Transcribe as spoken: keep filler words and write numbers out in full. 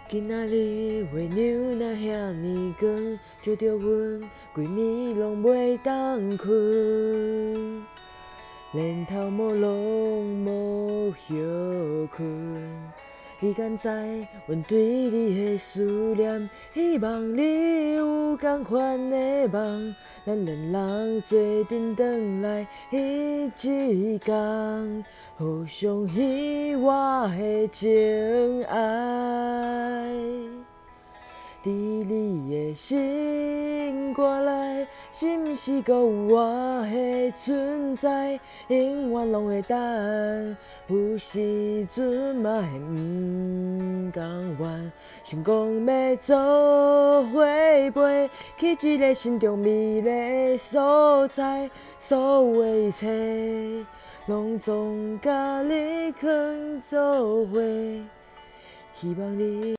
今仔日月亮若遐尼光，照着阮规暝拢袂当困，连头毛拢无休困。你敢知阮对你的思念？希望你有同款的梦，咱两人做阵转来迄一天，互相彼我的情爱。伫你的心肝内，是毋是阁有我的存在？永远拢会等，有时阵嘛会毋甘愿。想讲要做伙飞去一个心中美丽的所在，所有的一切，拢总甲你藏做伙。希望你。